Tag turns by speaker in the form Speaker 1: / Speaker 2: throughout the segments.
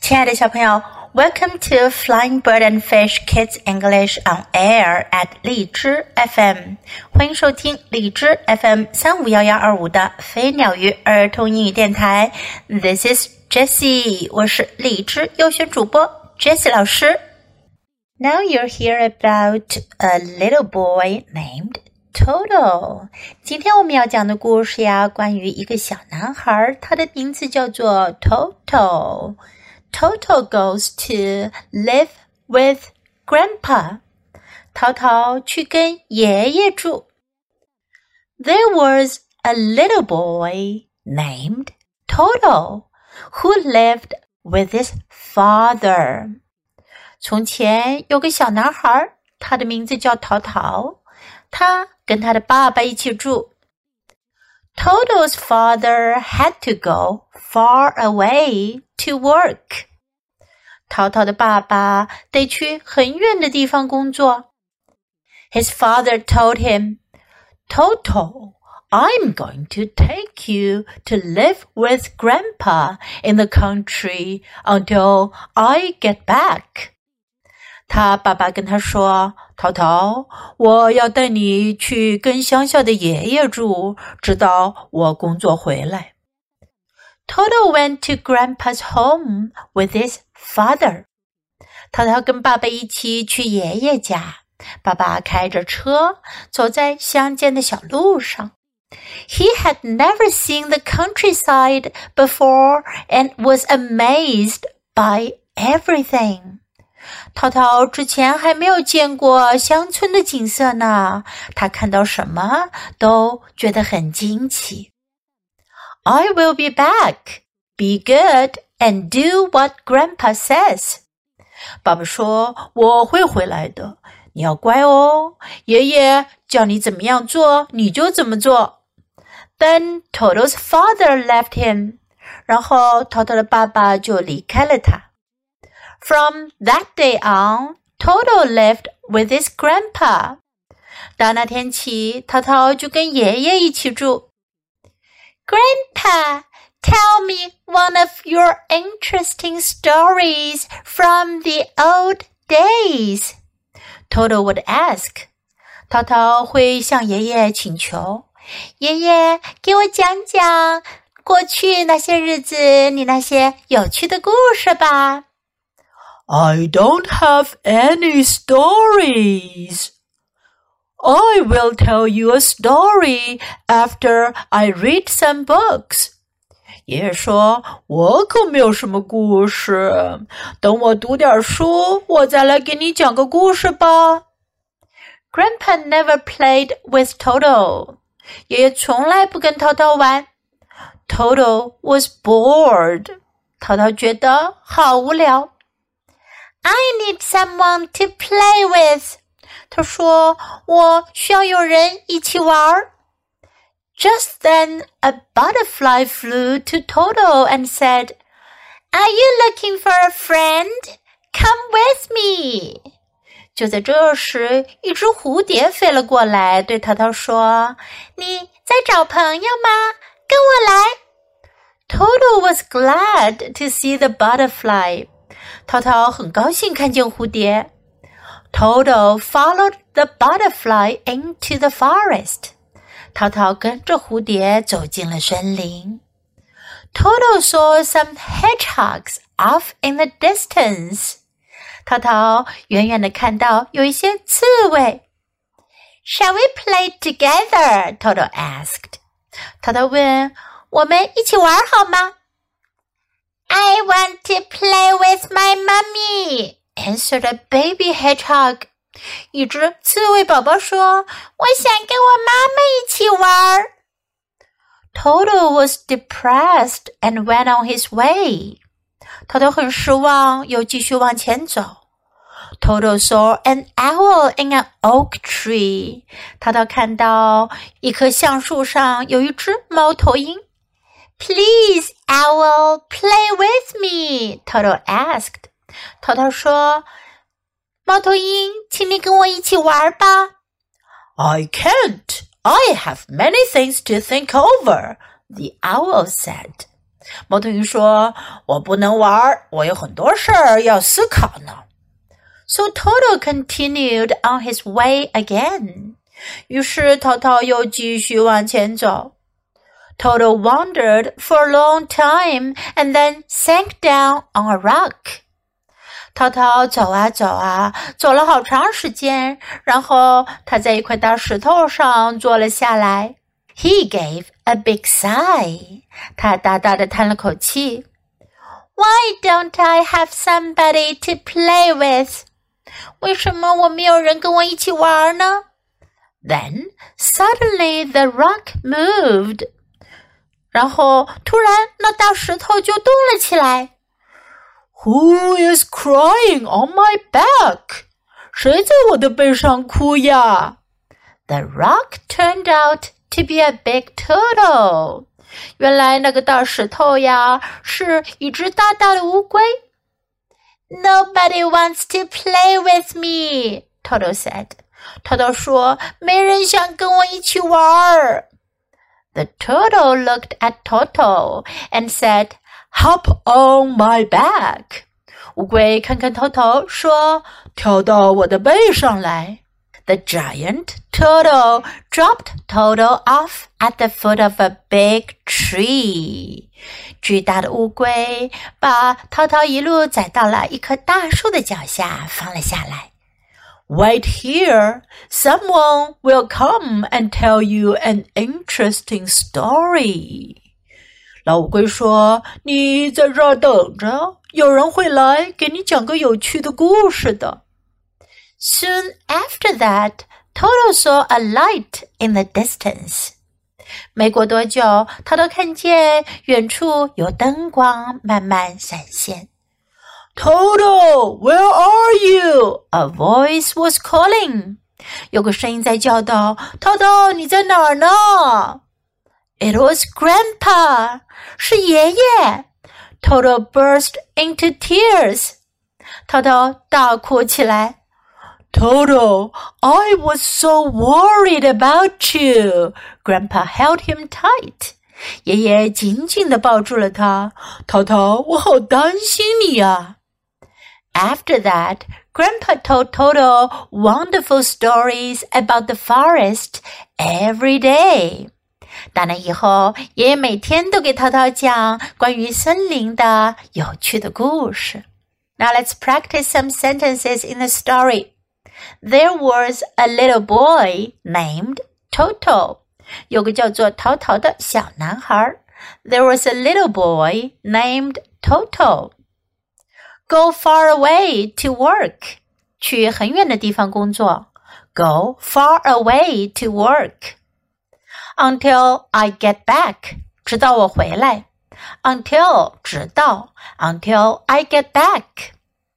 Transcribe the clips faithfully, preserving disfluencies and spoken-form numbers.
Speaker 1: 亲爱的小朋友 Welcome to Flying Bird and Fish Kids English on Air at 荔枝 F M 欢迎收听荔枝 F M 三五一一二五的飞鸟鱼儿童英语电台 This is Jessie 我是荔枝优选主播 Jessie 老师 Now you'll hear about a little boy named Toto 今天我们要讲的故事呀关于一个小男孩他的名字叫做 Toto Toto goes to live with Grandpa. 淘淘去跟爷爷住。There was a little boy named Toto who lived with his father. 从前有个小男孩，他的名字叫淘淘，他跟他的爸爸一起住。Toto's father had to go far away to work. 淘淘的爸爸得去很远的地方工作。His father told him, Toto, I'm going to take you to live with Grandpa in the country until I get back. 他爸爸跟他说，淘淘，我要带你去跟乡下的爷爷住，直到我工作回来。Toto went to Grandpa's home with his father. 淘淘跟爸爸一起去爷爷家，爸爸开着车，走在乡间的小路上。He had never seen the countryside before and was amazed by everything. 淘淘之前还没有见过乡村的景色呢，他看到什么都觉得很惊奇。I will be back. Be good and do what Grandpa says. 爸爸说，我会回来的，你要乖哦，爷爷叫你怎么样做，你就怎么做。Then Toto's father left him. 然后淘淘的爸爸就离开了他。From that day on, Toto lived with his grandpa. 到那天起，淘淘就跟爷爷一起住。Grandpa, tell me one of your interesting stories from the old days. Toto would ask. 淘淘会向爷爷请求，爷爷给我讲讲过去那些日子你那些有趣的故事吧。
Speaker 2: I don't have any stories. I will tell you a story after I read some books. 爷爷说，我可没有什么故事，等我读点书，我再来给你讲个故事吧。
Speaker 1: Grandpa never played with Toto. 爷爷从来不跟淘淘玩。Toto was bored. 淘淘觉得好无聊。I need someone to play with. 他说，我需要有人一起玩。Just then, a butterfly flew to Toto and said, Are you looking for a friend? Come with me. 就在这时，一只蝴蝶飞了过来，对淘淘说，你在找朋友吗？跟我来。Toto was glad to see the butterfly. 淘淘很高兴看见蝴蝶。Toto followed the butterfly into the forest. 淘淘跟着蝴蝶走进了森林。Toto saw some hedgehogs off in the distance. 淘淘远远地看到有一些刺猬。Shall we play together? Toto asked. 淘淘问，我们一起玩好吗？I want to play with my mummy, answered a baby hedgehog. 一只刺猬宝宝说，我想跟我妈妈一起玩。Toto was depressed and went on his way. 淘淘很失望，又继续往前走。Toto saw an owl in an oak tree. 淘淘看到一棵橡树上有一只猫头鹰。Please, owl, play with me, Toto asked. 淘淘说，猫头鹰，请你跟我一起玩吧。
Speaker 2: I can't. I have many things to think over, the owl said. 猫头鹰说，我不能玩，我有很多事儿要思考呢。
Speaker 1: So Toto continued on his way again.
Speaker 2: 于是淘淘又继续往前走。
Speaker 1: Toto wandered for a long time and then sank down on a rock.
Speaker 2: 淘淘走啊走啊，走了好长时间，然后他在一块大石头上坐了下来。
Speaker 1: He gave a big sigh.
Speaker 2: 他大大的叹了口气。
Speaker 1: Why don't I have somebody to play with?
Speaker 2: 为什么我没有人跟我一起玩呢？
Speaker 1: Then suddenly the rock moved.
Speaker 2: 然后突然那大石头就动了起来。Who is crying on my back? 谁在我的背上哭呀？
Speaker 1: The rock turned out to be a big turtle.
Speaker 2: 原来那个大石头呀，是一只大大的乌龟。
Speaker 1: Nobody wants to play with me, Toto said.
Speaker 2: 淘淘说，没人想跟我一起玩。
Speaker 1: The turtle looked at Toto and said,
Speaker 2: Hop on my back. 乌龟看看淘淘，说，跳到我的背上来。
Speaker 1: The giant turtle dropped Toto off at the foot of a big tree.
Speaker 2: 巨大的乌龟把淘淘一路载到了一棵大树的脚下，放了下来。Wait here, someone will come and tell you an interesting story. 老乌龟说，你在这儿等着，有人会来给你讲个有趣的故事的。
Speaker 1: Soon after that, Toto saw a light in the distance.
Speaker 2: 没过多久，他都看见远处有灯光慢慢闪现。Toto, where are you?
Speaker 1: A voice was calling.
Speaker 2: 有个声音在叫道，淘淘，你在哪儿呢？
Speaker 1: It was Grandpa.
Speaker 2: 是爷爷。Toto burst into tears. 淘淘大哭起来。Toto, I was so worried about you. Grandpa held him tight. 爷爷紧紧地抱住了他。淘淘，我好担心你呀。
Speaker 1: After that, Grandpa told Toto wonderful stories about the forest every day.
Speaker 2: 打那以后，爷爷每天都给淘淘讲关于森林的有趣的故事。
Speaker 1: Now let's practice some sentences in the story. There was a little boy named Toto.
Speaker 2: 有个叫做淘淘的小男孩。
Speaker 1: There was a little boy named Toto. Go far away to work.
Speaker 2: 去很远的地方工作。
Speaker 1: Go far away to work.
Speaker 2: Until I get back. 直到我回来。
Speaker 1: Until 直到 Until I get back.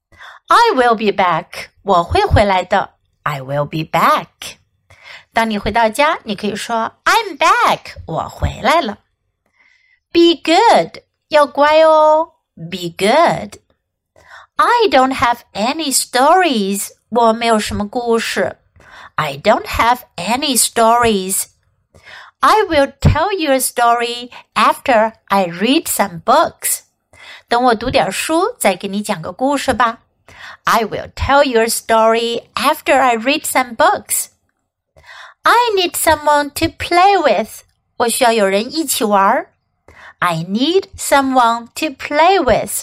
Speaker 2: I will be back. 我会回来的。
Speaker 1: I will be back.
Speaker 2: 当你回到家，你可以说 I'm back. 我回来了。
Speaker 1: Be good.
Speaker 2: 要乖哦。
Speaker 1: Be good.
Speaker 2: I don't have any stories. 我没有什么故事。
Speaker 1: I don't have any stories. I will tell you a story after I read some books.
Speaker 2: 等我读点书，再给你讲个故事吧。
Speaker 1: I will tell you a story after I read some books.
Speaker 2: I need someone to play with. 我需要有人一起玩。
Speaker 1: I need someone to play with.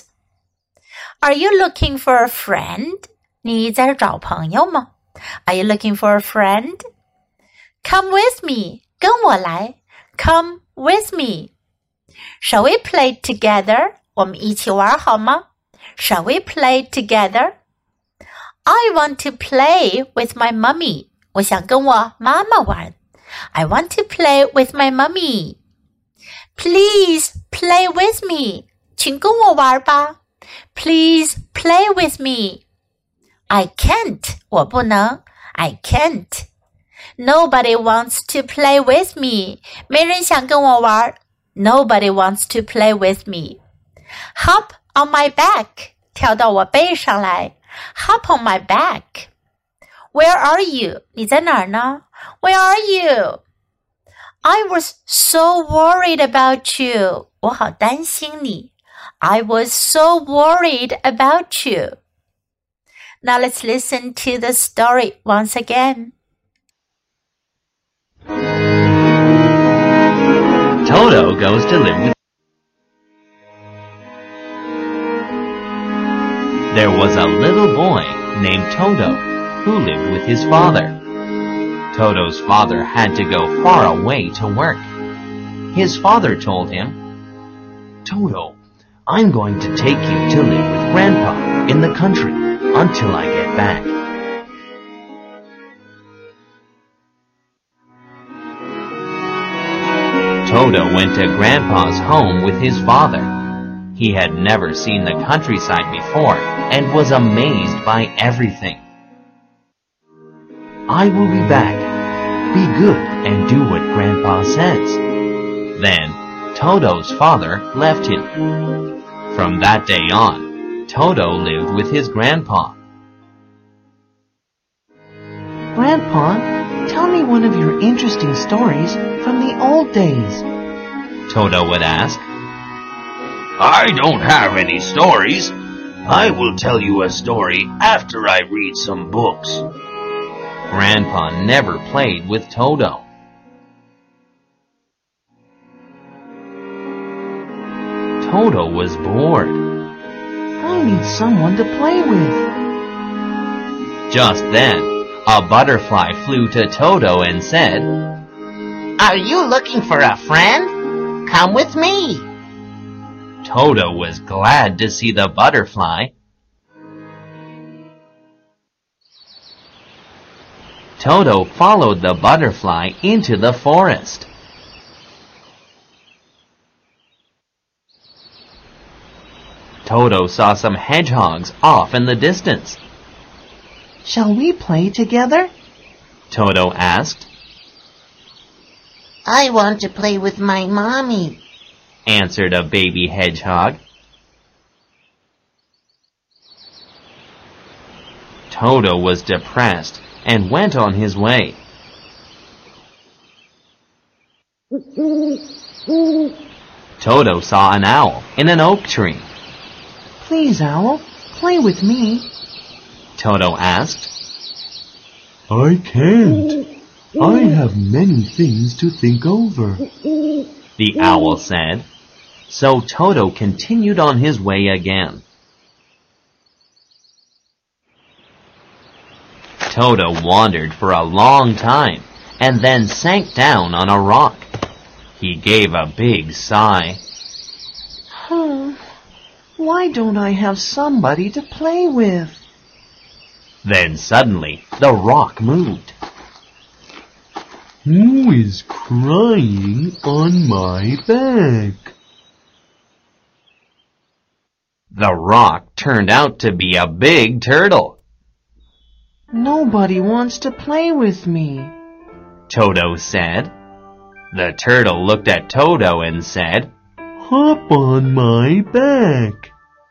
Speaker 2: Are you looking for a friend? 你在这找朋友吗？
Speaker 1: Are you looking for a friend?
Speaker 2: Come with me. 跟我来。
Speaker 1: Come with me.
Speaker 2: Shall we play together? 我们一起玩好吗？
Speaker 1: Shall we play together?
Speaker 2: I want to play with my mummy. 我想跟我妈妈玩。
Speaker 1: I want to play with my mummy.
Speaker 2: Please play with me. 请跟我玩吧。
Speaker 1: Please play with me.
Speaker 2: I can't. 我不能。
Speaker 1: I can't.
Speaker 2: Nobody wants to play with me. 没人想跟我玩。
Speaker 1: Nobody wants to play with me.
Speaker 2: Hop on my back. 跳到我背上来。
Speaker 1: Hop on my back.
Speaker 2: Where are you? 你在哪儿呢？
Speaker 1: Where are you? I was so worried about you. 我好担心你。I was so worried about you. Now let's listen to the story once again.
Speaker 3: Toto goes to live with There was a little boy named Toto who lived with his father. Toto's father had to go far away to work. His father told him, Toto, I'm going to take you to live with Grandpa in the country until I get back. Toto went to Grandpa's home with his father. He had never seen the countryside before and was amazed by everything. I will be back. Be good and do what Grandpa says. Then, Toto's father left him. From that day on, Toto lived with his grandpa.
Speaker 4: Grandpa, tell me one of your interesting stories from the old days.
Speaker 3: Toto would ask.
Speaker 5: I don't have any stories. I will tell you a story after I read some books.
Speaker 3: Grandpa never played with Toto. Toto was bored.
Speaker 4: I need someone to play with.
Speaker 3: Just then, a butterfly flew to Toto and said,
Speaker 6: Are you looking for a friend? Come with me.
Speaker 3: Toto was glad to see the butterfly. Toto followed the butterfly into the forest. Toto saw some hedgehogs off in the distance.
Speaker 4: Shall we play together?
Speaker 3: Toto asked.
Speaker 6: I want to play with my mommy,
Speaker 3: answered a baby hedgehog. Toto was depressed and went on his way. Toto saw an owl in an oak tree.
Speaker 4: Please, owl, play with me,
Speaker 3: Toto asked.
Speaker 7: I can't. I have many things to think over,
Speaker 3: the owl said. So Toto continued on his way again. Toto wandered for a long time and then sank down on a rock. He gave a big sigh.
Speaker 4: Hmm, why don't I have somebody to play with?
Speaker 3: Then suddenly the rock moved.
Speaker 7: Who is crying on my back?
Speaker 3: The rock turned out to be a big turtle.
Speaker 4: Nobody wants to play with me,
Speaker 3: Toto said. The turtle looked at Toto and said,
Speaker 7: Hop on my back.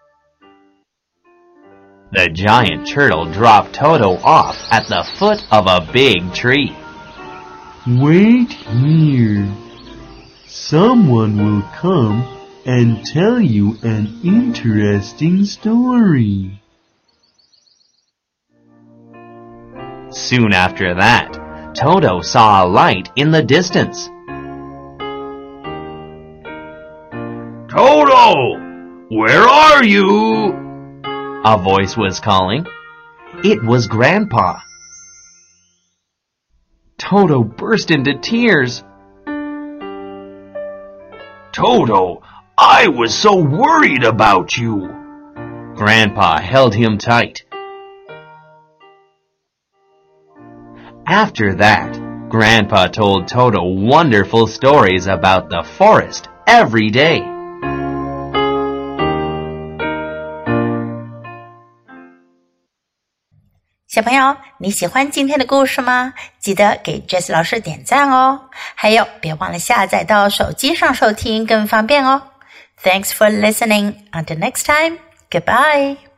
Speaker 3: The giant turtle dropped Toto off at the foot of a big tree.
Speaker 7: Wait here. Someone will come and tell you an interesting story.
Speaker 3: Soon after that, Toto saw a light in the distance.
Speaker 5: Toto! Where are you?
Speaker 3: A voice was calling. It was Grandpa. Toto burst into tears.
Speaker 5: Toto, I was so worried about you.
Speaker 3: Grandpa held him tight. After that, Grandpa told Toto wonderful stories about the forest every day.
Speaker 1: 小朋友，你喜欢今天的故事吗？记得给 Jessie 老师点赞哦。还有，别忘了下载到手机上收听更方便哦。Thanks for listening. Until next time, goodbye.